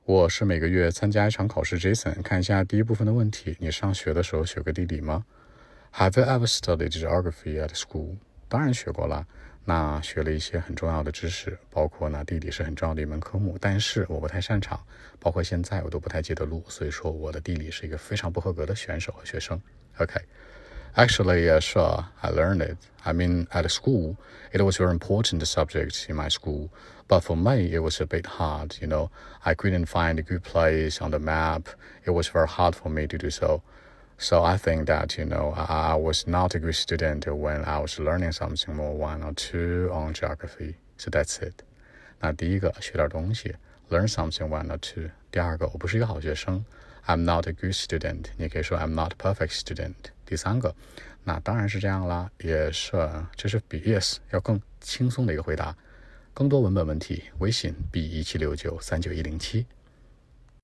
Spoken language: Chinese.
我是每个月参加一场考试 Jason， 看一下第一部分的问题，你上学的时候学过地理吗？ Have you ever studied geography at school? 当然学过了，那学了一些很重要的知识，包括呢地理是很重要的一门科目，但是我不太擅长，包括现在我都不太记得路，所以说我的地理是一个非常不合格的选手和学生。Actually, sure, I learned it. I mean, at school, it was a very important subject in my school. But for me, it was a bit hard, I couldn't find a good place on the map. It was very hard for me to do so. So I think that, I was not a good student when I was learning something more one or two on geography. So that's it. 那第一个，学点东西 ，learn something one or two。第二个，我不是一个好学生 ，I'm not a good student。你可以说 I'm not a perfect student。第三个，那当然是这样啦，也是，这是比 yes 要更轻松的一个回答。更多文本问题，微信 B1769391107。